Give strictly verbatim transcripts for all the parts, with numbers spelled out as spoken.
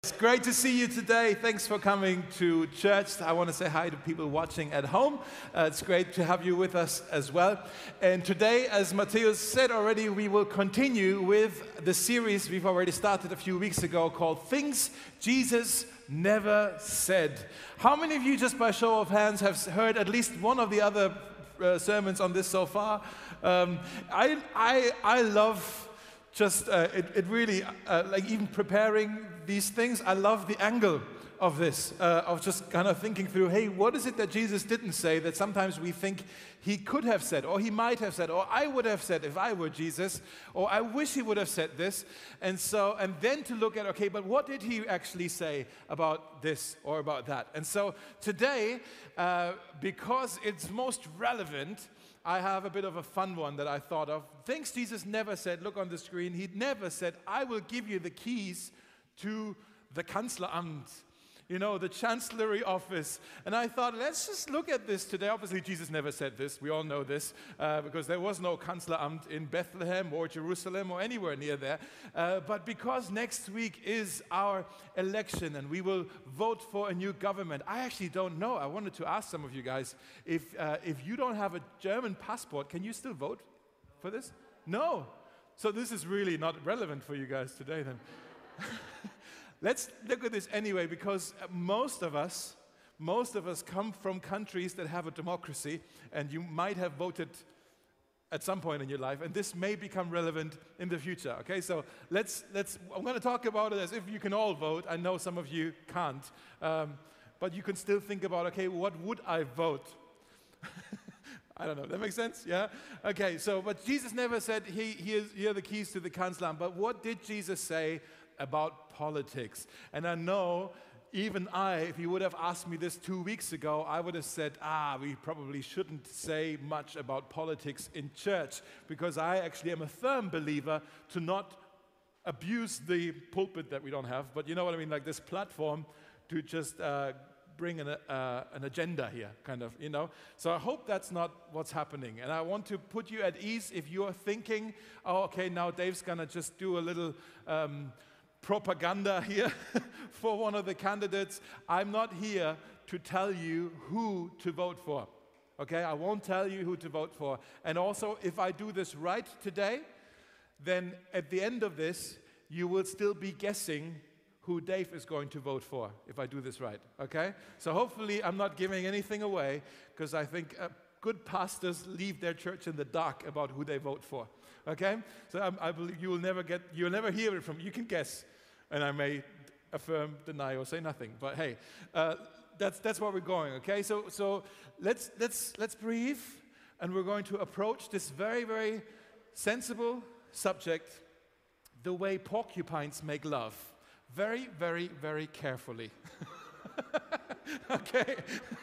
It's great to see you today. Thanks for coming to church. I want to say hi to people watching at home. Uh, it's great to have you with us as well. And today, as Matthias said already, we will continue with the series we've already started a few weeks ago called Things Jesus Never Said. How many of you, just by show of hands, have heard at least one of the other uh, sermons on this so far? Um, I, I, I love just, uh, it, it really, uh, like even preparing these things, I love the angle of this, uh, of just kind of thinking through, hey, what is it that Jesus didn't say that sometimes we think he could have said, or he might have said, or I would have said if I were Jesus, or I wish he would have said this. And so, and then to look at, okay, but what did he actually say about this or about that? And so today, uh, because it's most relevant, I have a bit of a fun one that I thought of. Things Jesus never said. Look on the screen. He never said, I will give you the keys to the Kanzleramt, you know, the Chancellery office. And I thought, let's just look at this today. Obviously, Jesus never said this. We all know this, uh, because there was no Kanzleramt in Bethlehem or Jerusalem or anywhere near there. Uh, but because next week is our election and we will vote for a new government, I actually don't know. I wanted to ask some of you guys, if, uh, if you don't have a German passport, can you still vote for this? No. So this is really not relevant for you guys today then. Let's look at this anyway, because most of us, most of us come from countries that have a democracy, and you might have voted at some point in your life, and this may become relevant in the future. Okay, so let's let's. I'm going to talk about it as if you can all vote. I know some of you can't, um, but you can still think about, okay, what would I vote? I don't know. That makes sense? Yeah? Okay, so, but Jesus never said, he, here, here are the keys to the Kanzleramt. But what did Jesus say about politics? And I know, even I, if you would have asked me this two weeks ago, I would have said, ah, we probably shouldn't say much about politics in church, because I actually am a firm believer to not abuse the pulpit that we don't have, but you know what I mean, like this platform to just uh, bring an, uh, an agenda here, kind of, you know. So I hope that's not what's happening. And I want to put you at ease if you're thinking, oh, okay, now Dave's going to just do a little um, propaganda here for one of the candidates. I'm not here to tell you who to vote for, okay? I won't tell you who to vote for. And also, if I do this right today, then at the end of this, you will still be guessing who Dave is going to vote for, if I do this right, okay? So hopefully I'm not giving anything away, because I think uh, good pastors leave their church in the dark about who they vote for, okay? So um, I believe you will never get, you will never hear it from, you can guess, and I may affirm, deny, or say nothing, but hey, uh, that's that's where we're going, okay? So so let's let's let's breathe, and we're going to approach this very very sensible subject, the way porcupines make love, very very very carefully. Okay,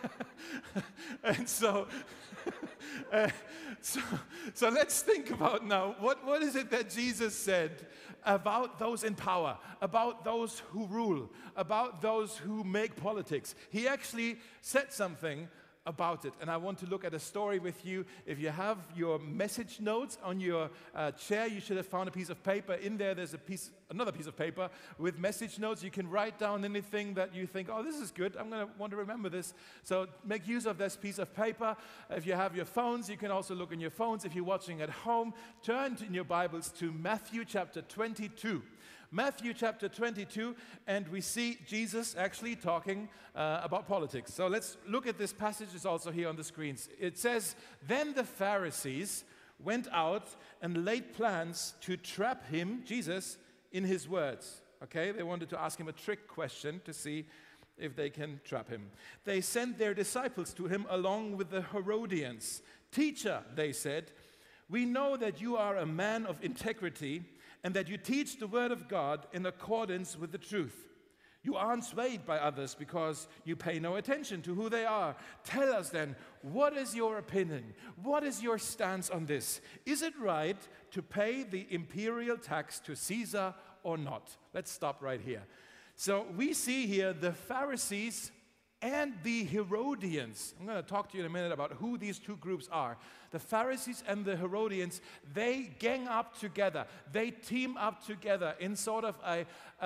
and so, uh, so, so let's think about now, what, what is it that Jesus said about those in power, about those who rule, about those who make politics? He actually said something about it, and I want to look at a story with you. If you have your message notes on your uh, chair, you should have found a piece of paper. In there, there's a piece, another piece of paper with message notes. You can write down anything that you think, oh, this is good, I'm going to want to remember this. So make use of this piece of paper. If you have your phones, you can also look in your phones. If you're watching at home, turn in your Bibles to Matthew chapter twenty-two. Matthew chapter twenty-two, and we see Jesus actually talking uh, about politics. So let's look at this passage. It's also here on the screens. It says, then the Pharisees went out and laid plans to trap him, Jesus, in his words. Okay, they wanted to ask him a trick question to see if they can trap him. They sent their disciples to him along with the Herodians. Teacher, they said, we know that you are a man of integrity and that you teach the word of God in accordance with the truth. You aren't swayed by others because you pay no attention to who they are. Tell us then, what is your opinion? What is your stance on this? Is it right to pay the imperial tax to Caesar or not? Let's stop right here. So we see here the Pharisees and the Herodians. I'm going to talk to you in a minute about who these two groups are. The Pharisees and the Herodians, they gang up together. They team up together in sort of a, a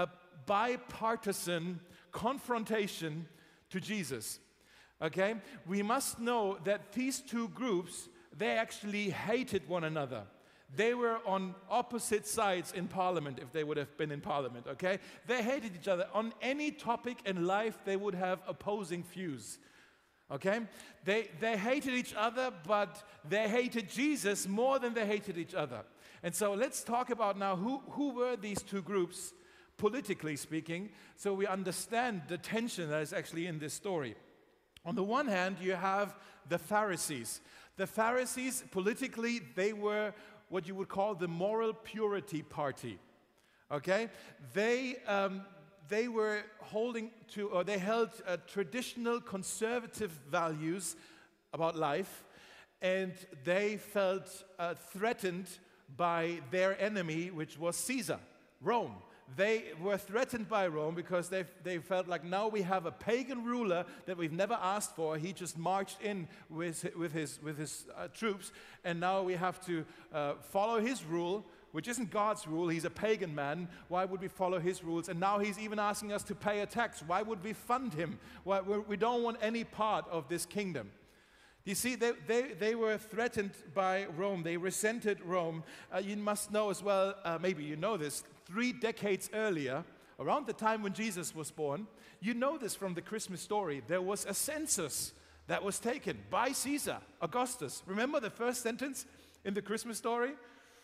bipartisan confrontation to Jesus. Okay? We must know that these two groups, they actually hated one another. They were on opposite sides in Parliament, if they would have been in Parliament, okay? They hated each other. On any topic in life, they would have opposing views, okay? They, they hated each other, but they hated Jesus more than they hated each other. And so let's talk about now who, who were these two groups, politically speaking, so we understand the tension that is actually in this story. On the one hand, you have the Pharisees. The Pharisees, politically, they were what you would call the moral purity party, okay? They, um, they were holding to, or they held uh, traditional conservative values about life, and they felt uh, threatened by their enemy, which was Caesar, Rome. They were threatened by Rome because they, they felt like now we have a pagan ruler that we've never asked for. He just marched in with, with his, with his uh, troops, and now we have to uh, follow his rule, which isn't God's rule. He's a pagan man. Why would we follow his rules? And now he's even asking us to pay a tax. Why would we fund him? Why, we don't want any part of this kingdom. You see, they, they, they were threatened by Rome. They resented Rome. Uh, you must know as well, uh, maybe you know this, three decades earlier, around the time when Jesus was born, you know this from the Christmas story, there was a census that was taken by Caesar, Augustus. Remember the first sentence in the Christmas story?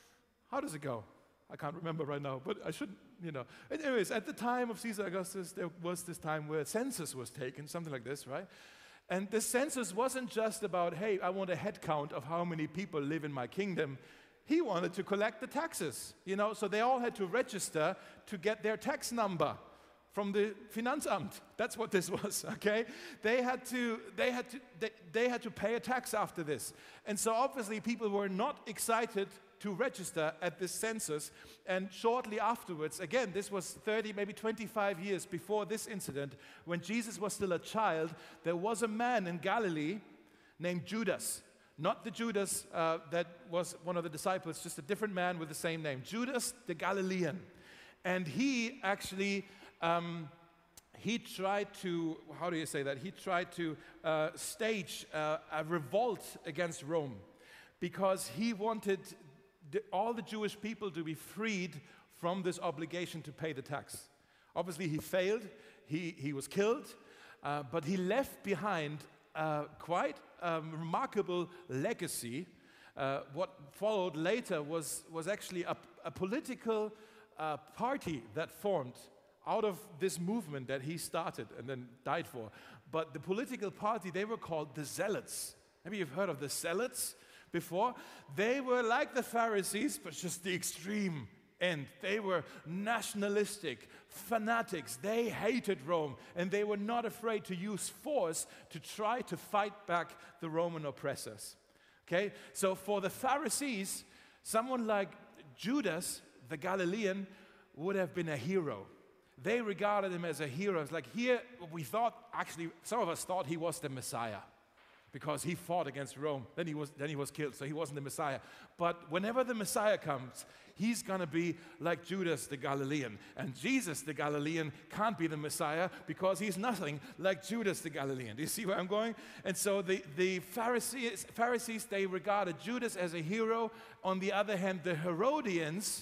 How does it go? I can't remember right now, but I should, you know. Anyways, at the time of Caesar Augustus, there was this time where a census was taken, something like this, right? And the census wasn't just about, hey, I want a head count of how many people live in my kingdom. He wanted to collect the taxes, you know, so they all had to register to get their tax number from the Finanzamt. That's what this was, okay? They had to, they had to, they, they had to pay a tax after this. And so obviously people were not excited to register at this census, and shortly afterwards, again, this was thirty, maybe twenty-five years before this incident, when Jesus was still a child, there was a man in Galilee named Judas. Not the Judas uh, that was one of the disciples, just a different man with the same name. Judas the Galilean. And he actually, um, he tried to, how do you say that? He tried to uh, stage uh, a revolt against Rome because he wanted the, all the Jewish people to be freed from this obligation to pay the tax. Obviously, he failed. He, he was killed, uh, but he left behind uh, quite a remarkable legacy. Uh, what followed later was, was actually a, a political uh, party that formed out of this movement that he started and then died for. But the political party, they were called the Zealots. Maybe you've heard of the Zealots before. They were like the Pharisees, but just the extreme end. They were nationalistic, fanatics. They hated Rome, and they were not afraid to use force to try to fight back the Roman oppressors. Okay, so for the Pharisees, someone like Judas, the Galilean, would have been a hero. They regarded him as a hero. It's like here, we thought, actually, some of us thought he was the Messiah because he fought against Rome. Then he was, then he was killed, so he wasn't the Messiah. But whenever the Messiah comes, he's going to be like Judas the Galilean. And Jesus the Galilean can't be the Messiah because he's nothing like Judas the Galilean. Do you see where I'm going? And so the, the Pharisees, Pharisees, they regarded Judas as a hero. On the other hand, the Herodians,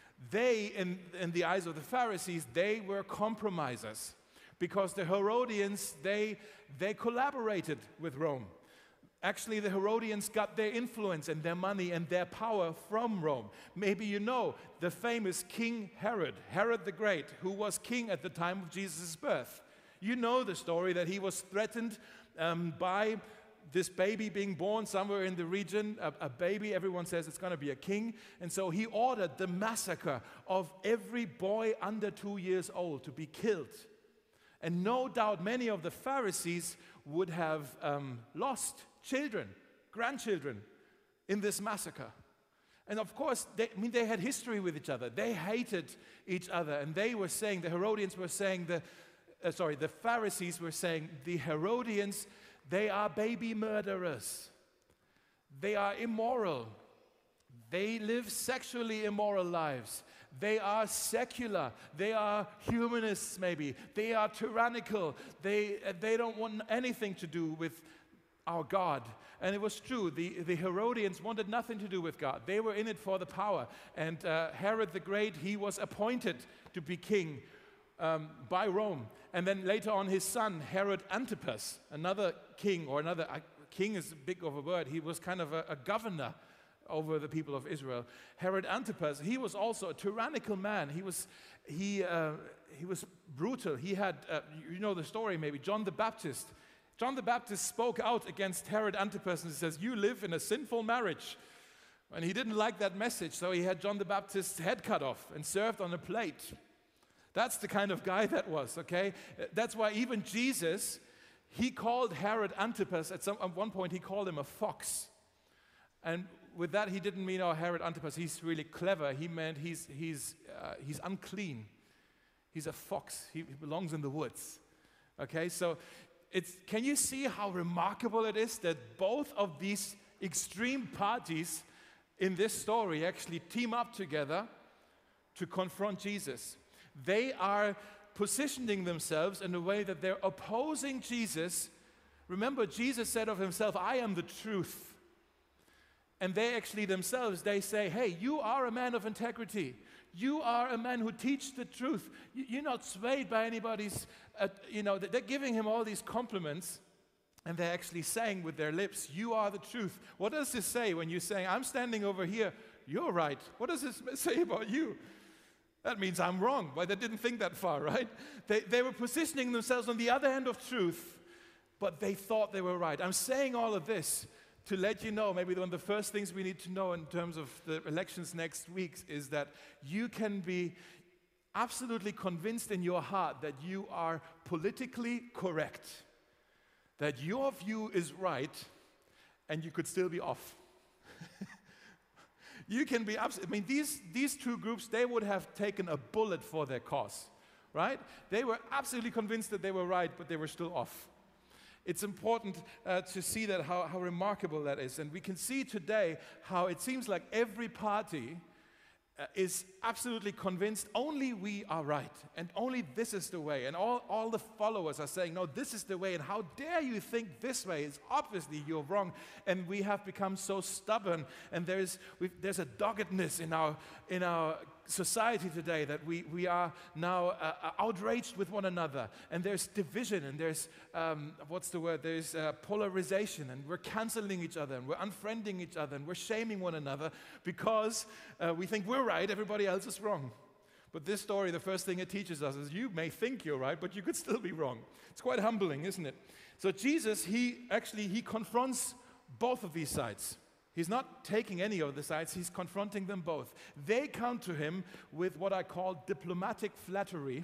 they, in, in the eyes of the Pharisees, they were compromisers. Because the Herodians, they, they collaborated with Rome. Actually, the Herodians got their influence and their money and their power from Rome. Maybe you know the famous King Herod, Herod the Great, who was king at the time of Jesus' birth. You know the story that he was threatened um, by this baby being born somewhere in the region, a, a baby, everyone says it's going to be a king. And so he ordered the massacre of every boy under two years old to be killed. And no doubt many of the Pharisees would have um, lost children, grandchildren in this massacre. And of course, they, I mean, they had history with each other. They hated each other. And they were saying, the Herodians were saying, the, uh, sorry, the Pharisees were saying, the Herodians, they are baby murderers. They are immoral. They live sexually immoral lives. They are secular. They are humanists, maybe. They are tyrannical. They, they don't want anything to do with our God. And it was true. The, the Herodians wanted nothing to do with God. They were in it for the power. And uh, Herod the Great, he was appointed to be king um, by Rome. And then later on, his son, Herod Antipas, another king, or another, uh, king is big of a word. He was kind of a, a governor over the people of Israel. Herod Antipas, he was also a tyrannical man. He was, he, uh, he was brutal. He had, uh, you know the story maybe, John the Baptist. John the Baptist spoke out against Herod Antipas and says, you live in a sinful marriage. And he didn't like that message, so he had John the Baptist's head cut off and served on a plate. That's the kind of guy that was, okay? That's why even Jesus, he called Herod Antipas, at, some, at one point he called him a fox. And with that, he didn't mean, oh, Herod Antipas, he's really clever. He meant he's, he's, uh, he's unclean. He's a fox. He, he belongs in the woods. Okay, so it's, can you see how remarkable it is that both of these extreme parties in this story actually team up together to confront Jesus? They are positioning themselves in a way that they're opposing Jesus. Remember, Jesus said of himself, I am the truth. And they actually themselves, they say, hey, you are a man of integrity. You are a man who teaches the truth. You're not swayed by anybody's, uh, you know, they're giving him all these compliments. And they're actually saying with their lips, you are the truth. What does this say when you're saying, I'm standing over here, you're right? What does this say about you? That means I'm wrong. Why, they didn't think that far, right? They, they were positioning themselves on the other end of truth, but they thought they were right. I'm saying all of this to let you know, maybe one of the first things we need to know in terms of the elections next week is that you can be absolutely convinced in your heart that you are politically correct, that your view is right, and you could still be off. You can be absolutely, I mean, these, these two groups, they would have taken a bullet for their cause, right? They were absolutely convinced that they were right, but they were still off. It's important uh, to see that, how, how remarkable that is. And we can see today how it seems like every party uh, is absolutely convinced only we are right and only this is the way. And all, all the followers are saying, no, this is the way. And how dare you think this way? It's obviously you're wrong. And we have become so stubborn. And there's, there's a doggedness in our, in our society today that we, we are now uh, outraged with one another, and there's division, and there's, um, what's the word, there's uh, polarization, and we're canceling each other, and we're unfriending each other, and we're shaming one another because uh, we think we're right, everybody else is wrong. But this story, the first thing it teaches us is you may think you're right, but you could still be wrong. It's quite humbling, isn't it? So Jesus, he actually, he confronts both of these sides. He's not taking any of the sides, he's confronting them both. They come to him with what I call diplomatic flattery.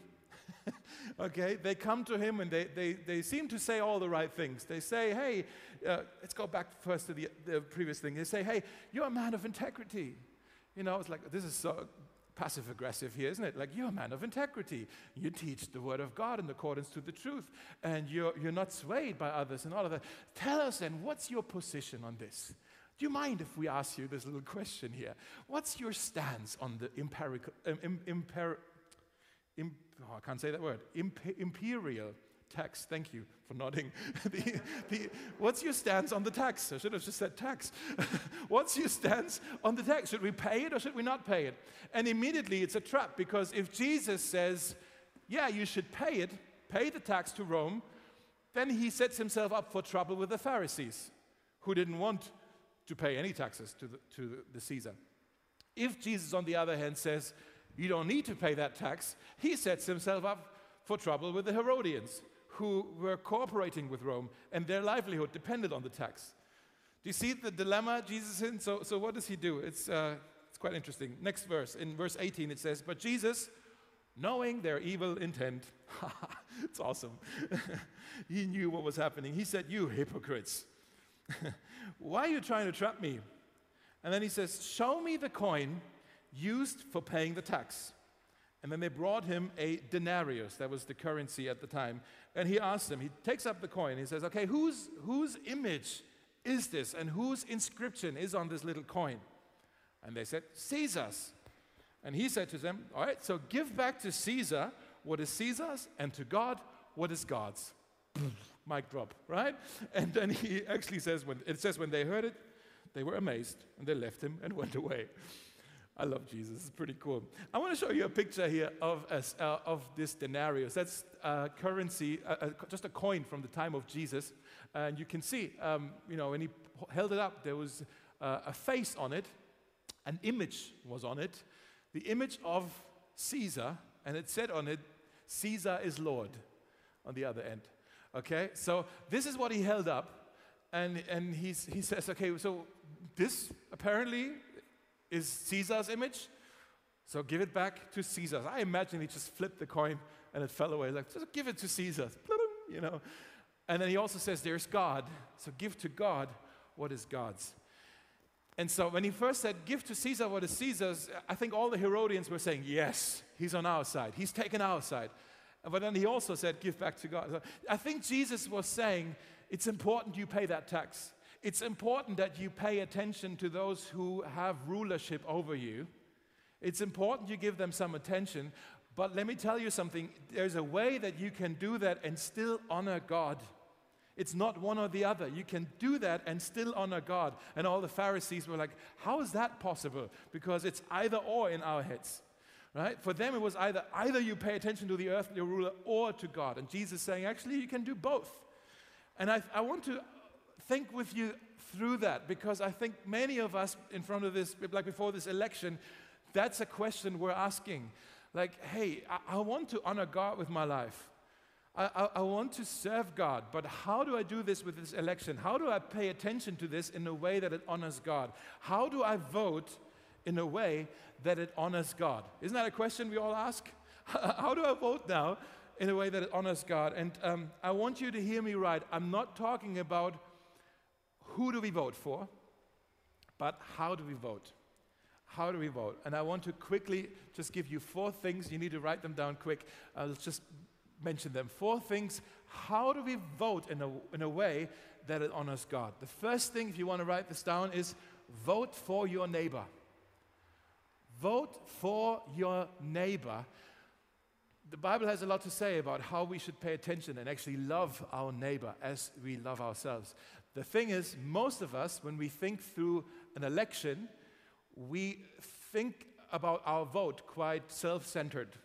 Okay, they come to him and they, they, they seem to say all the right things. They say, hey, uh, let's go back first to the, the previous thing. They say, hey, you're a man of integrity. You know, it's like, this is so passive-aggressive here, isn't it? Like, you're a man of integrity. You teach the word of God in accordance to the truth, and you're, you're not swayed by others and all of that. Tell us then, what's your position on this? Do you mind if we ask you this little question here? What's your stance on the empirical, um, im, imper, im, oh, I can't say that word, Imp, imperial tax? Thank you for nodding. the, the, what's your stance on the tax? I should have just said tax. What's your stance on the tax? Should we pay it or should we not pay it? And immediately it's a trap, because if Jesus says, yeah, you should pay it, pay the tax to Rome, then he sets himself up for trouble with the Pharisees, who didn't want to pay any taxes to the, to the Caesar. If Jesus, on the other hand, says, you don't need to pay that tax, he sets himself up for trouble with the Herodians, who were cooperating with Rome, and their livelihood depended on the tax. Do you see the dilemma Jesus is in? So, so what does he do? It's, uh, it's quite interesting. Next verse, in verse eighteen, it says, but Jesus, knowing their evil intent, it's awesome, he knew what was happening. He said, you hypocrites, why are you trying to trap me? And then he says, show me the coin used for paying the tax. And then they brought him a denarius, that was the currency at the time. And he asked them, he takes up the coin, he says, okay, whose, whose image is this and whose inscription is on this little coin? And they said, Caesar's. And he said to them, all right, so give back to Caesar what is Caesar's, and to God what is God's. Mic drop, right? And then he actually says, when it says when they heard it, they were amazed, and they left him and went away. I love Jesus. It's pretty cool. I want to show you a picture here of, uh, of this denarius. That's uh, currency, uh, uh, just a coin from the time of Jesus. And you can see, um, you know, when he held it up, there was uh, a face on it. An image was on it. The image of Caesar, and it said on it, Caesar is Lord, on the other end. Okay, so this is what he held up, and, and he's, he says, okay, so this apparently is Caesar's image, so give it back to Caesar. I imagine he just flipped the coin and it fell away, like, just give it to Caesar, you know. And then he also says, there's God, so give to God what is God's. And so when he first said, give to Caesar what is Caesar's, I think all the Herodians were saying, yes, he's on our side. He's taken our side. But then he also said, give back to God. So I think Jesus was saying, it's important you pay that tax. It's important that you pay attention to those who have rulership over you. It's important you give them some attention. But let me tell you something. There's a way that you can do that and still honor God. It's not one or the other. You can do that and still honor God. And all the Pharisees were like, how is that possible? Because it's either or in our heads, right? For them, it was either, either you pay attention to the earthly ruler or to God. And Jesus is saying, actually, you can do both. And I, I want to think with you through that, because I think many of us in front of this, like before this election, that's a question we're asking. Like, hey, I, I want to honor God with my life. I, I, I want to serve God, but how do I do this with this election? How do I pay attention to this in a way that it honors God? How do I vote in a way that it honors God? Isn't that a question we all ask? How do I vote now in a way that it honors God? And um, I want you to hear me right. I'm not talking about who do we vote for, but how do we vote? How do we vote? And I want to quickly just give you four things. You need to write them down quick. I'll just mention them. Four things. How do we vote in a, in a way that it honors God? The first thing, if you want to write this down, is vote for your neighbor. Vote for your neighbor. The Bible has a lot to say about how we should pay attention and actually love our neighbor as we love ourselves. The thing is, most of us, when we think through an election, we think about our vote quite self-centeredly.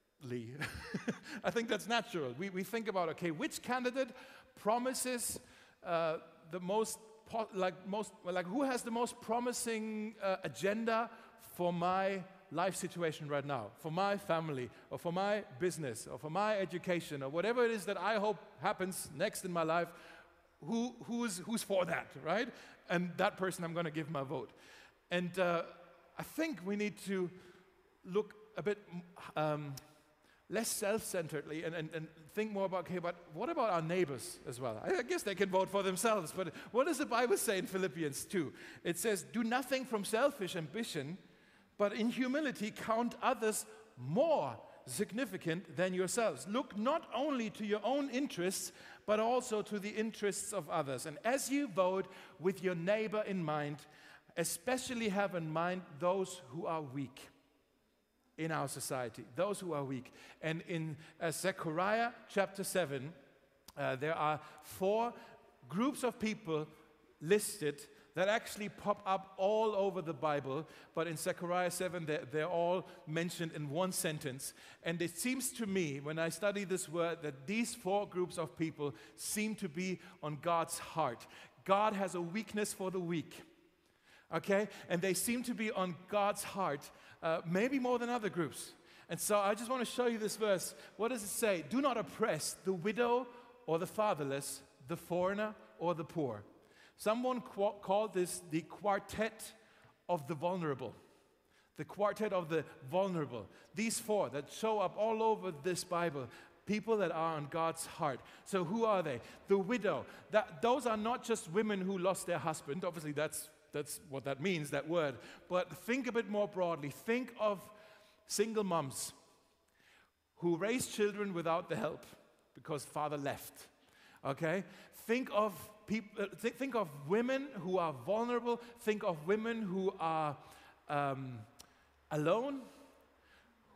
I think that's natural. We, we think about, okay, which candidate promises uh, the most, po- like most, like who has the most promising uh, agenda for my life situation right now, for my family, or for my business, or for my education, or whatever it is that I hope happens next in my life. Who, who's, who's for that, right? And that person I'm going to give my vote. And uh, I think we need to look a bit um, less self-centeredly and, and, and think more about, okay, but what about our neighbors as well? I, I guess they can vote for themselves, but what does the Bible say in Philippians two? It says, do nothing from selfish ambition, but in humility count others more significant than yourselves. Look not only to your own interests, but also to the interests of others. And as you vote with your neighbor in mind, especially have in mind those who are weak in our society, those who are weak. And in uh, Zechariah chapter seven, uh, there are four groups of people listed that actually pop up all over the Bible, but in Zechariah seven, they're, they're all mentioned in one sentence. And it seems to me, when I study this word, that these four groups of people seem to be on God's heart. God has a weakness for the weak, okay? And they seem to be on God's heart, uh, maybe more than other groups. And so I just want to show you this verse. What does it say? Do not oppress the widow or the fatherless, the foreigner or the poor. Someone qu- called this the quartet of the vulnerable. The quartet of the vulnerable. These four that show up all over this Bible, people that are on God's heart. So who are they? The widow. That, those are not just women who lost their husband. Obviously, that's, that's what that means, that word. But think a bit more broadly. Think of single moms who raise children without the help because father left. Okay? Think of people, th- think of women who are vulnerable. Think of women who are um, alone.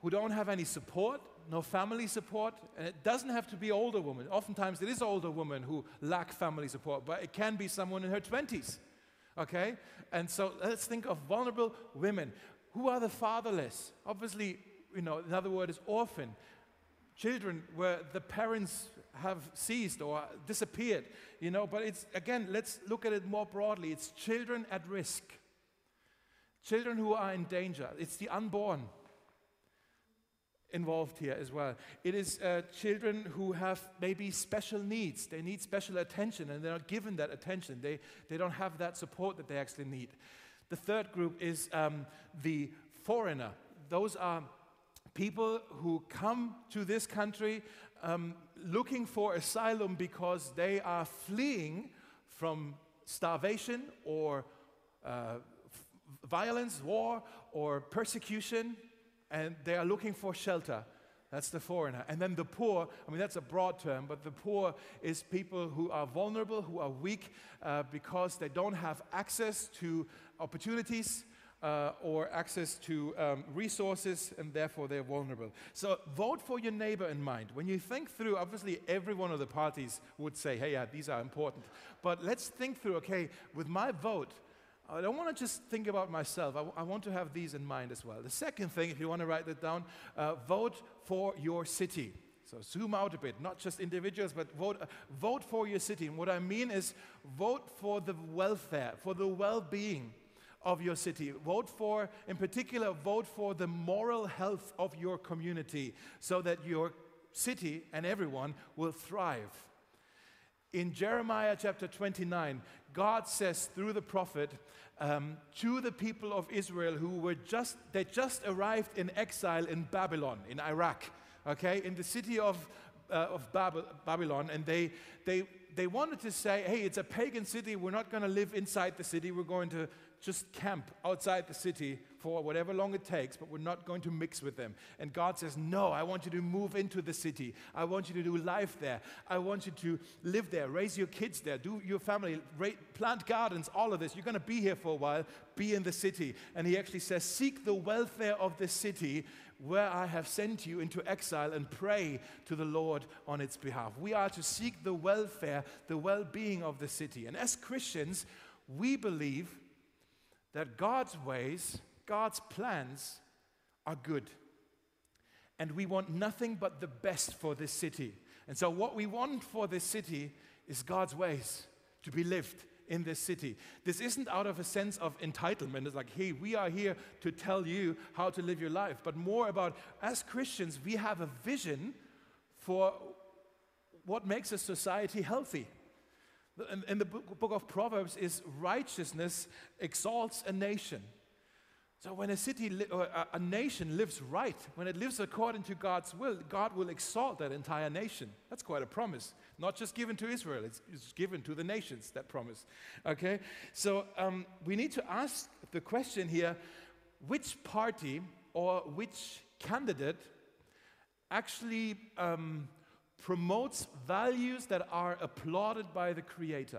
who don't have any support, no family support, and it doesn't have to be older women. Oftentimes it is older women who lack family support, but it can be someone in her twenties, okay? And so let's think of vulnerable women. Who are the fatherless? Obviously, you know, another word is orphan. Children where the parents have ceased or disappeared, you know, but it's, again, let's look at it more broadly. It's children at risk. Children who are in danger. It's the unborn involved here as well. It is uh, children who have maybe special needs. They need special attention and they're not given that attention. They, they don't have that support that they actually need. The third group is um, the foreigner. Those are people who come to this country um, looking for asylum because they are fleeing from starvation or uh, f- violence, war, or persecution, and they are looking for shelter. That's the foreigner. And then the poor, I mean, that's a broad term, but the poor is people who are vulnerable, who are weak uh, because they don't have access to opportunities uh, or access to um, resources, and therefore they're vulnerable. So vote for your neighbor in mind. When you think through, obviously every one of the parties would say, hey, yeah, these are important. But let's think through, okay, with my vote, I don't want to just think about myself. I, w- I want to have these in mind as well. The second thing, if you want to write that down, uh, vote for your city. So zoom out a bit, not just individuals, but vote, uh, vote for your city. And what I mean is vote for the welfare, for the well-being of your city. Vote for, in particular, vote for the moral health of your community so that your city and everyone will thrive. In Jeremiah chapter twenty-nine, God says through the prophet um, to the people of Israel who were just, they just arrived in exile in Babylon, in Iraq, okay, in the city of, uh, of Bab- Babylon, and they, they, they wanted to say, hey, it's a pagan city, we're not going to live inside the city, we're going to just camp outside the city for whatever long it takes, but we're not going to mix with them. And God says, no, I want you to move into the city. I want you to do life there. I want you to live there, raise your kids there, do your family, ra- plant gardens, all of this. You're going to be here for a while, be in the city. And he actually says, seek the welfare of the city where I have sent you into exile and pray to the Lord on its behalf. We are to seek the welfare, the well-being of the city. And as Christians, we believe that God's ways, God's plans are good. And we want nothing but the best for this city. And so what we want for this city is God's ways to be lived in this city. This isn't out of a sense of entitlement. It's like, hey, we are here to tell you how to live your life. But more about, as Christians, we have a vision for what makes a society healthy. In, in the book, book of Proverbs is righteousness exalts a nation. So when a city li- or a, a nation lives right, when it lives according to God's will, God will exalt that entire nation. That's quite a promise. Not just given to Israel, it's, it's given to the nations, that promise. Okay? So um, we need to ask the question here, which party or which candidate actually um, promotes values that are applauded by the Creator?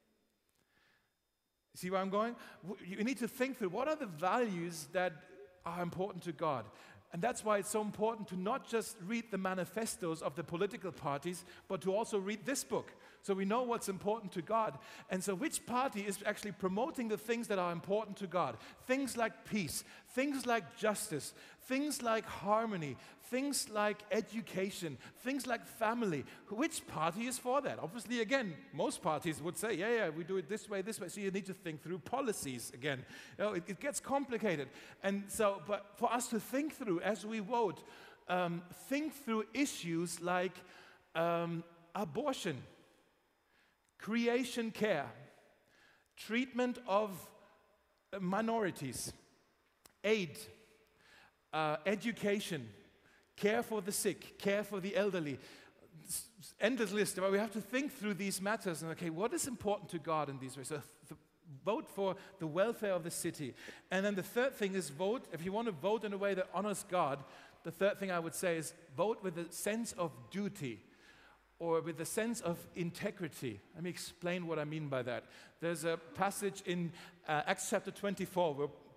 See where I'm going? You need to think through what are the values that are important to God. And that's why it's so important to not just read the manifestos of the political parties, but to also read this book, so we know what's important to God. And so which party is actually promoting the things that are important to God? Things like peace, things like justice, things like harmony, things like education, things like family. Which party is for that? Obviously, again, most parties would say, yeah, yeah, we do it this way, this way. So you need to think through policies again. You know, it, it gets complicated. And so, but for us to think through as we vote, um, think through issues like um, abortion, creation care, treatment of minorities, aid, uh, education, care for the sick, care for the elderly. Endless list. But we have to think through these matters and, okay, what is important to God in these ways? So th- vote for the welfare of the city. And then the third thing is vote, if you want to vote in a way that honors God, the third thing I would say is vote with a sense of duty, or with a sense of integrity. Let me explain what I mean by that. There's a passage in uh, Acts chapter twenty-four where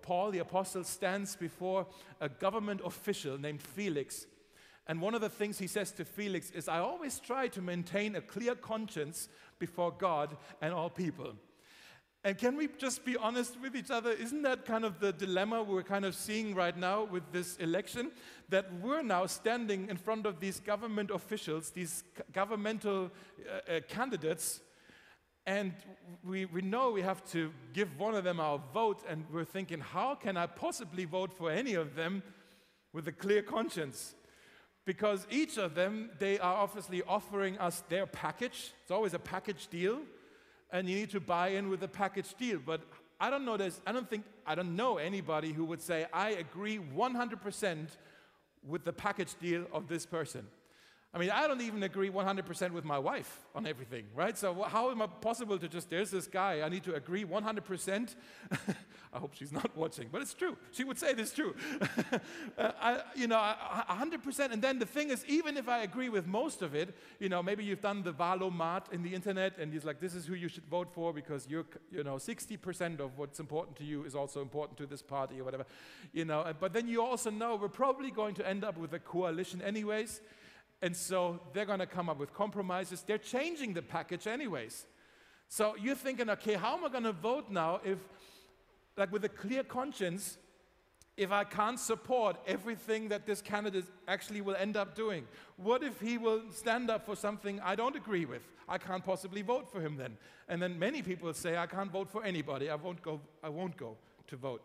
Paul the apostle stands before a government official named Felix. And one of the things he says to Felix is, I always try to maintain a clear conscience before God and all people. And can we just be honest with each other? Isn't that kind of the dilemma we're kind of seeing right now with this election? That we're now standing in front of these government officials, these governmental uh, uh, candidates, and we, we know we have to give one of them our vote, and we're thinking, how can I possibly vote for any of them with a clear conscience? Because each of them, they are obviously offering us their package. It's always a package deal. And you need to buy in with the package deal. But I don't know this, I don't think, I don't know anybody who would say, I agree one hundred percent with the package deal of this person. I mean, I don't even agree one hundred percent with my wife on everything, right? So how am I possible to just, there's this guy, I need to agree one hundred percent? I hope she's not watching, but it's true. She would say this true. uh, I, you know, one hundred percent. And then the thing is, even if I agree with most of it, you know, maybe you've done the Valomat in the internet, and he's like, this is who you should vote for because you're, you know, sixty percent of what's important to you is also important to this party or whatever. You know, but then you also know we're probably going to end up with a coalition anyways. And so they're going to come up with compromises. They're changing the package anyways. So you're thinking, okay, how am I going to vote now if, like with a clear conscience, if I can't support everything that this candidate actually will end up doing? What if he will stand up for something I don't agree with? I can't possibly vote for him then. And then many people say, I can't vote for anybody. I won't go, I won't go to vote.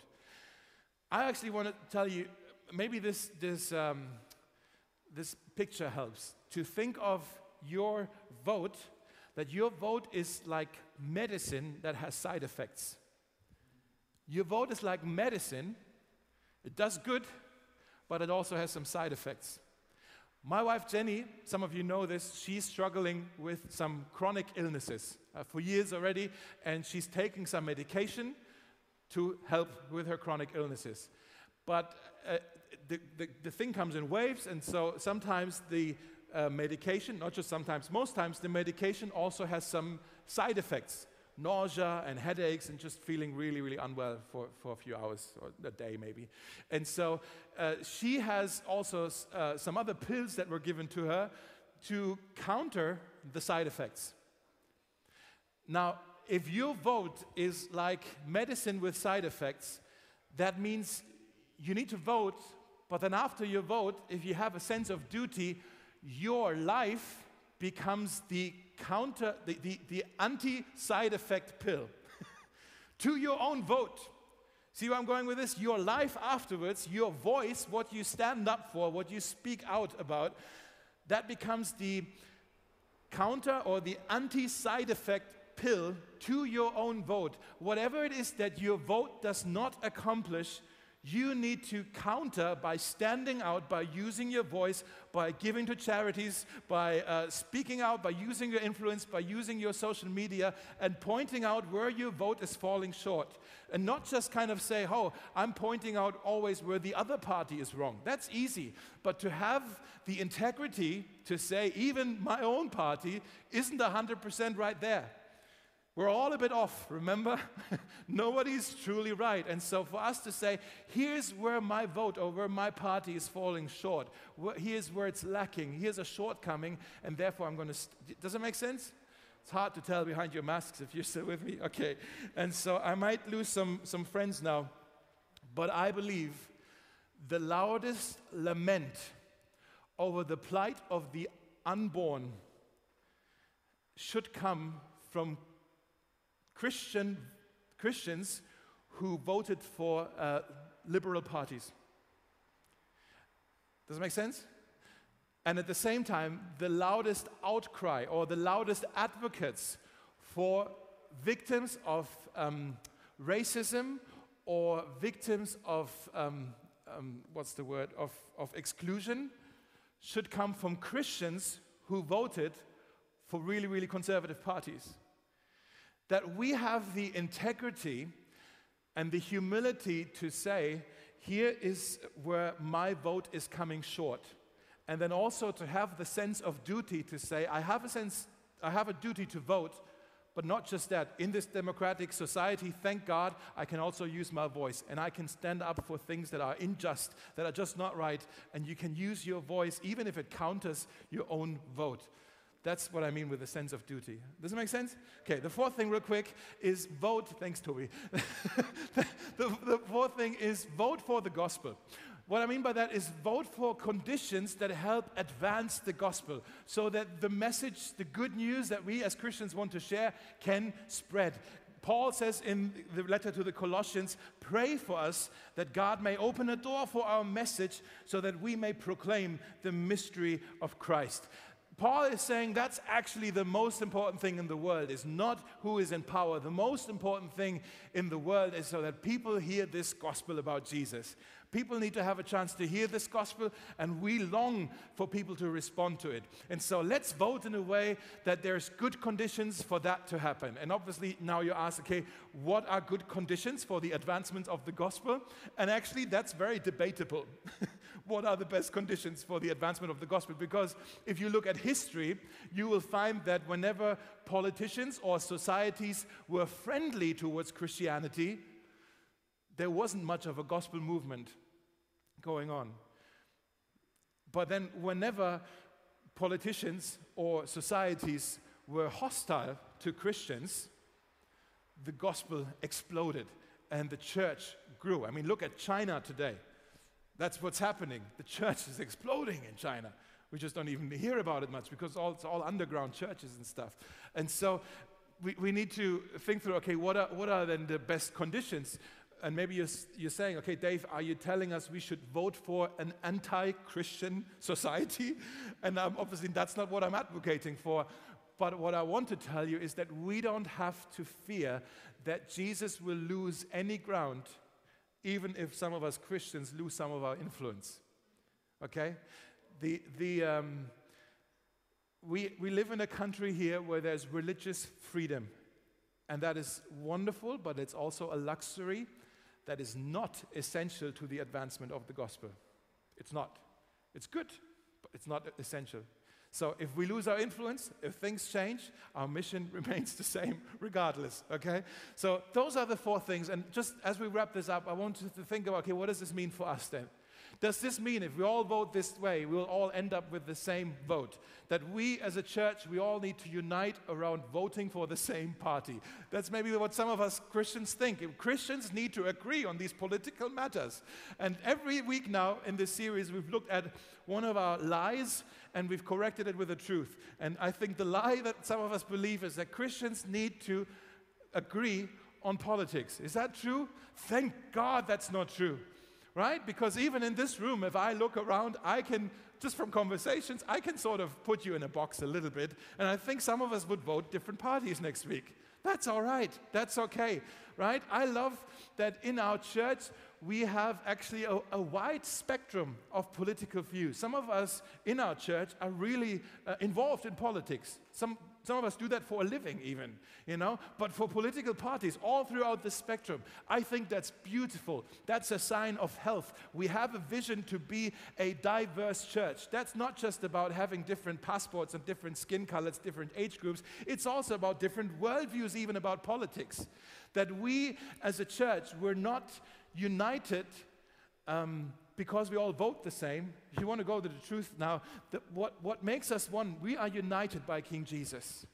I actually want to tell you, maybe this, this, um, This picture helps to think of your vote, that your vote is like medicine that has side effects. Your vote is like medicine. It does good, but it also has some side effects. My wife Jenny, some of you know this, she's struggling with some chronic illnesses uh, for years already, and she's taking some medication to help with her chronic illnesses. But uh, the, the, the thing comes in waves, and so sometimes the uh, medication, not just sometimes, most times, the medication also has some side effects, nausea and headaches and just feeling really, really unwell for, for a few hours or a day maybe. And so uh, she has also uh, some other pills that were given to her to counter the side effects. Now, if your vote is like medicine with side effects, that means you need to vote, but then after your vote, if you have a sense of duty, your life becomes the counter, the, the, the anti-side effect pill to your own vote. See where I'm going with this? Your life afterwards, your voice, what you stand up for, what you speak out about, that becomes the counter or the anti-side effect pill to your own vote. Whatever it is that your vote does not accomplish, you need to counter by standing out, by using your voice, by giving to charities, by uh, speaking out, by using your influence, by using your social media, and pointing out where your vote is falling short. And not just kind of say, oh, I'm pointing out always where the other party is wrong. That's easy. But to have the integrity to say, even my own party isn't one hundred percent right there. We're all a bit off, remember? Nobody's truly right. And so for us to say, here's where my vote or where my party is falling short, here's where it's lacking, here's a shortcoming, and therefore I'm going to... St- Does it make sense? It's hard to tell behind your masks if you're still with me. Okay. And so I might lose some, some friends now, but I believe the loudest lament over the plight of the unborn should come from Christian Christians who voted for uh, liberal parties. Does it make sense? And at the same time, the loudest outcry or the loudest advocates for victims of um, racism or victims of, um, um, what's the word, of, of exclusion should come from Christians who voted for really, really conservative parties. That we have the integrity and the humility to say, here is where my vote is coming short. And then also to have the sense of duty to say, I have a sense, I have a duty to vote, But not just that, in this democratic society, thank God, I can also use my voice and I can stand up for things that are unjust, that are just not right, and you can use your voice even if it counters your own vote. That's what I mean with a sense of duty. Does it make sense? Okay, the fourth thing real quick is vote. Thanks, Toby. the, the, the fourth thing is vote for the gospel. What I mean by that is vote for conditions that help advance the gospel so that the message, the good news that we as Christians want to share can spread. Paul says in the letter to the Colossians, pray for us that God may open a door for our message so that we may proclaim the mystery of Christ. Paul is saying that's actually the most important thing in the world, is not who is in power. The most important thing in the world is so that people hear this gospel about Jesus. People need to have a chance to hear this gospel, and we long for people to respond to it. And so let's vote in a way that there's good conditions for that to happen. And obviously now you ask, okay, what are good conditions for the advancement of the gospel? And actually that's very debatable. What are the best conditions for the advancement of the gospel? Because if you look at history, you will find that whenever politicians or societies were friendly towards Christianity, there wasn't much of a gospel movement going on. But then whenever politicians or societies were hostile to Christians, the gospel exploded and the church grew. I mean, look at China today. That's what's happening. The church is exploding in China. We just don't even hear about it much because all, it's all underground churches and stuff. And so we, we need to think through, okay, what are, what are then the best conditions? And maybe you're, you're saying, okay, Dave, are you telling us we should vote for an anti-Christian society? And um, obviously that's not what I'm advocating for. But what I want to tell you is that we don't have to fear that Jesus will lose any ground, even if some of us Christians lose some of our influence. Okay? The, the, um, we, we live in a country here where there's religious freedom. And that is wonderful, but it's also a luxury that is not essential to the advancement of the gospel. It's not. It's good, but it's not essential. So if we lose our influence, if things change, our mission remains the same regardless, okay? So those are the four things, and just as we wrap this up, I want you to think about, okay, what does this mean for us then? Does this mean if we all vote this way, we'll all end up with the same vote? That we as a church, we all need to unite around voting for the same party? That's maybe what some of us Christians think. If Christians need to agree on these political matters. And every week now in this series, we've looked at one of our lies and we've corrected it with the truth. And I think the lie that some of us believe is that Christians need to agree on politics. Is that true? Thank God that's not true. Right? Because even in this room, if I look around, I can, just from conversations, I can sort of put you in a box a little bit. And I think some of us would vote different parties next week. That's all right. That's okay. Right? I love that in our church, we have actually a, a wide spectrum of political views. Some of us in our church are really uh, involved in politics. Some Some of us do that for a living even, you know, but for political parties all throughout the spectrum, I think that's beautiful. That's a sign of health. We have a vision to be a diverse church. That's not just about having different passports and different skin colors, different age groups. It's also about different worldviews, even about politics. That we as a church, we're not united um, because we all vote the same. If you want to go to the truth now, the, what, what makes us one, we are united by King Jesus.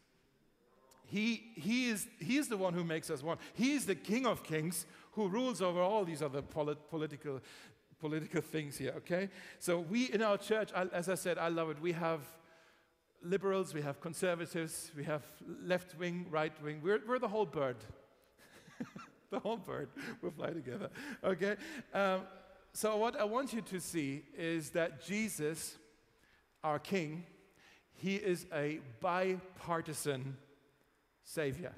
He, he, is, he is the one who makes us one. He is the King of Kings who rules over all these other polit, political, political things here, okay? So we in our church, I, as I said, I love it. We have liberals, we have conservatives, we have left wing, right wing. We're, we're the whole bird. The whole bird. We'll fly together, okay? Um, So what I want you to see is that Jesus, our King, he is a bipartisan Savior.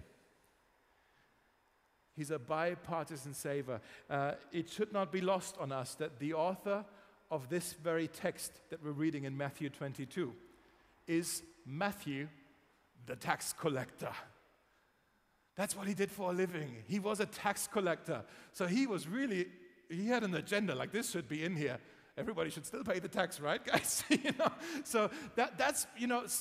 He's a bipartisan Savior. Uh, it should not be lost on us that the author of this very text that we're reading in Matthew twenty-two is Matthew, the tax collector. That's what he did for a living. He was a tax collector. So he was really... He had an agenda, like this should be in here. Everybody should still pay the tax, right, guys? you know? So that, that's, you know,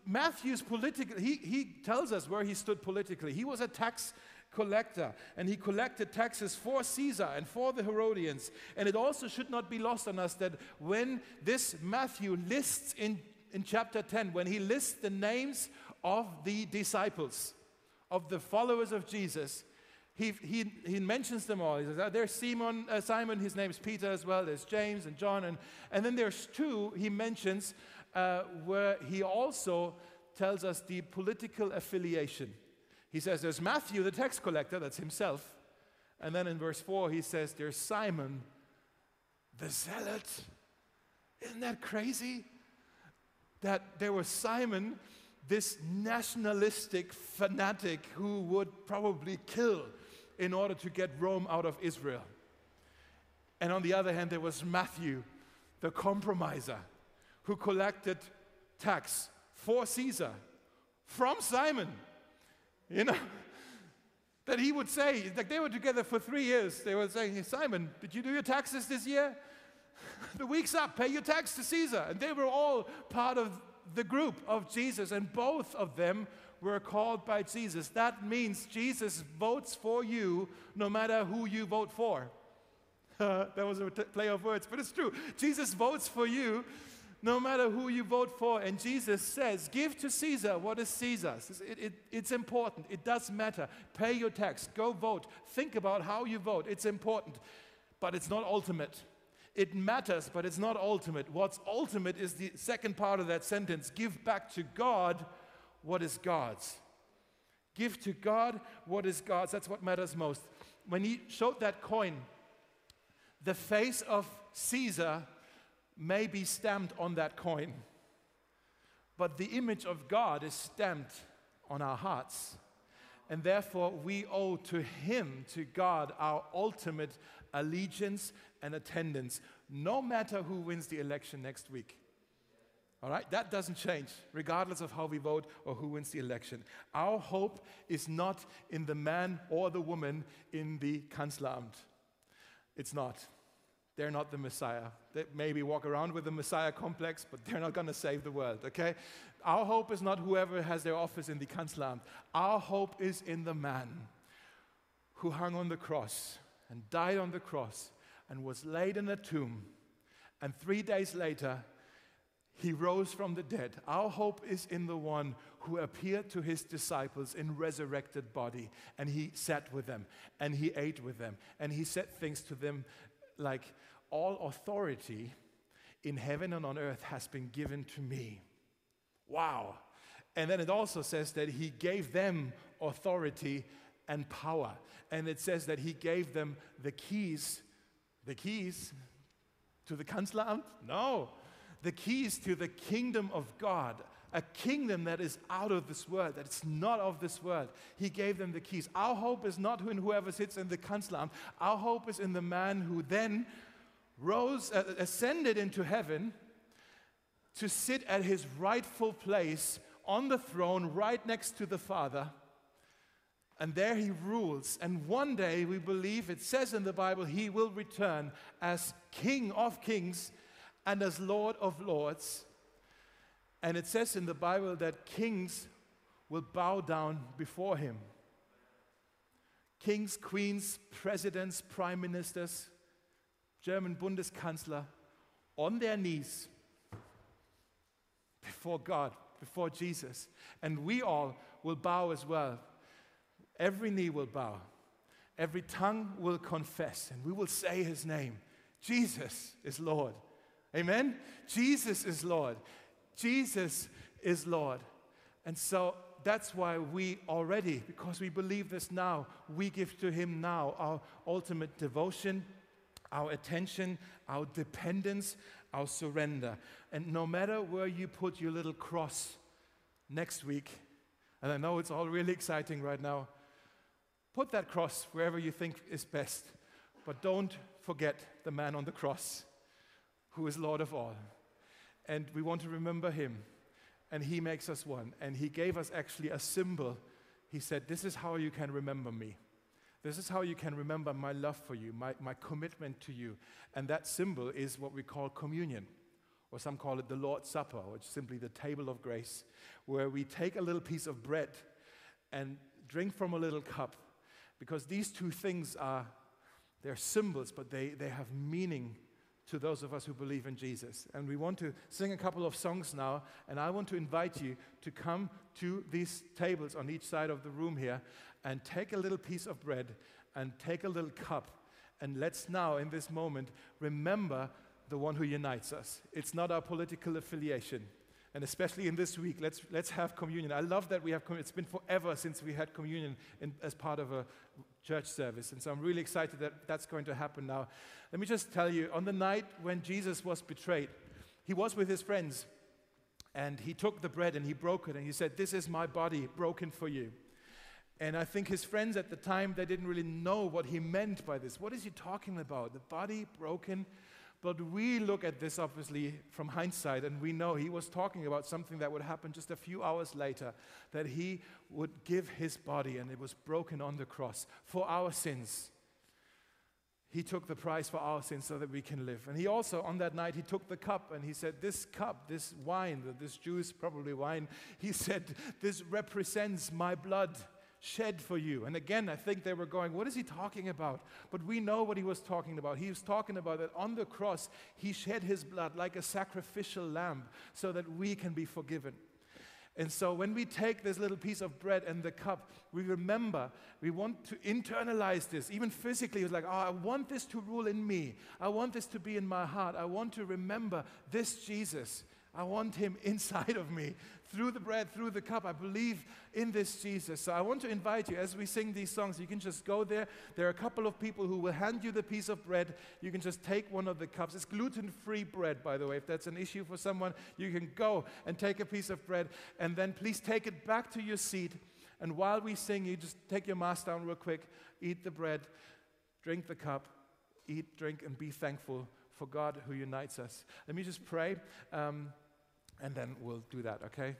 Matthew's political, he, he tells us where he stood politically. He was a tax collector, and he collected taxes for Caesar and for the Herodians. And it also should not be lost on us that when this Matthew lists in, in chapter ten, when he lists the names of the disciples, of the followers of Jesus, he, he, he mentions them all. He says, oh, there's Simon, uh, Simon, his name's Peter as well, there's James and John, and, and then there's two he mentions uh, where he also tells us the political affiliation. He says there's Matthew, the tax collector, that's himself. And then in verse four, he says there's Simon, the zealot. Isn't that crazy? That there was Simon, this nationalistic fanatic who would probably kill in order to get Rome out of Israel. And on the other hand, there was Matthew, the compromiser, who collected tax for Caesar from Simon. You know, that he would say, like they were together for three years, they were saying, hey, Simon, did you do your taxes this year? The week's up, pay your tax to Caesar. And they were all part of the group of Jesus, and both of them were called by Jesus. That means Jesus votes for you no matter who you vote for. Uh, that was a t- play of words, but it's true. Jesus votes for you no matter who you vote for. And Jesus says, give to Caesar what is Caesar's. It, it, it's important. It does matter. Pay your tax. Go vote. Think about how you vote. It's important. But it's not ultimate. It matters, but it's not ultimate. What's ultimate is the second part of that sentence. Give back to God what is God's. Give to God what is God's. That's what matters most. When he showed that coin, the face of Caesar may be stamped on that coin, but the image of God is stamped on our hearts. And therefore, we owe to him, to God, our ultimate allegiance and attendance, no matter who wins the election next week. All right? That doesn't change, regardless of how we vote or who wins the election. Our hope is not in the man or the woman in the Kanzleramt. It's not. They're not the Messiah. They maybe walk around with the Messiah complex, but they're not going to save the world, okay? Our hope is not whoever has their office in the Kanzleramt. Our hope is in the man who hung on the cross and died on the cross and was laid in a tomb. And three days later, he rose from the dead. Our hope is in the one who appeared to his disciples in resurrected body, and he sat with them, and he ate with them, and he said things to them like, all authority in heaven and on earth has been given to me. Wow. And then it also says that he gave them authority and power. And it says that he gave them the keys. The keys to the Kanzleramt? No. The keys to the kingdom of God. A kingdom that is out of this world, that is not of this world. He gave them the keys. Our hope is not in whoever sits in the Kanzleramt. Our hope is in the man who then rose, uh, ascended into heaven to sit at his rightful place on the throne right next to the Father. And there he rules. And one day, we believe, it says in the Bible, he will return as King of kings and as Lord of lords. And it says in the Bible that kings will bow down before him. Kings, queens, presidents, prime ministers, German Bundeskanzler, on their knees before God, before Jesus. And we all will bow as well. Every knee will bow. Every tongue will confess, and we will say his name. Jesus is Lord. Amen? Jesus is Lord. Jesus is Lord. And so that's why we already, because we believe this now, we give to him now our ultimate devotion, our attention, our dependence, our surrender. And no matter where you put your little cross next week, and I know it's all really exciting right now, put that cross wherever you think is best, but don't forget the man on the cross who is Lord of all. And we want to remember him, and he makes us one. And he gave us actually a symbol. He said, this is how you can remember me. This is how you can remember my love for you, my, my commitment to you. And that symbol is what we call communion. or some call it the Lord's Supper, which is simply the table of grace, where we take a little piece of bread and drink from a little cup, because these two things are, they're symbols, but they, they have meaning to those of us who believe in Jesus. And we want to sing a couple of songs now, and I want to invite you to come to these tables on each side of the room here and take a little piece of bread and take a little cup, and let's now, in this moment, remember the one who unites us. It's not our political affiliation. And especially in this week, let's, let's have communion. I love that we have communion. It's been forever since we had communion in, as part of a church service. And so I'm really excited that that's going to happen now. Let me just tell you, on the night when Jesus was betrayed, he was with his friends. And he took the bread and he broke it. And he said, "This is my body broken for you." And I think his friends at the time, they didn't really know what he meant by this. What is he talking about? The body broken? But we look at this, obviously, from hindsight, and we know he was talking about something that would happen just a few hours later, that he would give his body, and it was broken on the cross for our sins. He took the price for our sins so that we can live. And he also, on that night, he took the cup, and he said, this cup, this wine, this juice, probably wine, he said, "This represents my blood shed for you." And again, I think they were going, what is he talking about? But we know what he was talking about. He was talking about that on the cross, he shed his blood like a sacrificial lamb so that we can be forgiven. And so when we take this little piece of bread and the cup, we remember, we want to internalize this, even physically. It's like, oh, I want this to rule in me. I want this to be in my heart. I want to remember this Jesus. I want him inside of me, through the bread, through the cup. I believe in this Jesus. So I want to invite you, as we sing these songs, you can just go there. There are a couple of people who will hand you the piece of bread. You can just take one of the cups. It's gluten-free bread, by the way. If that's an issue for someone, you can go and take a piece of bread, and then please take it back to your seat. And while we sing, you just take your mask down real quick, eat the bread, drink the cup, eat, drink, and be thankful for God who unites us. Let me just pray. Um, And then we'll do that, okay?